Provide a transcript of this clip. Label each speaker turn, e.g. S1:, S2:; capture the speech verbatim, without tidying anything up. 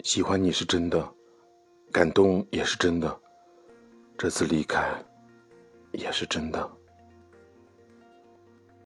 S1: 喜欢你是真的，感动也是真的，这次离开也是真的。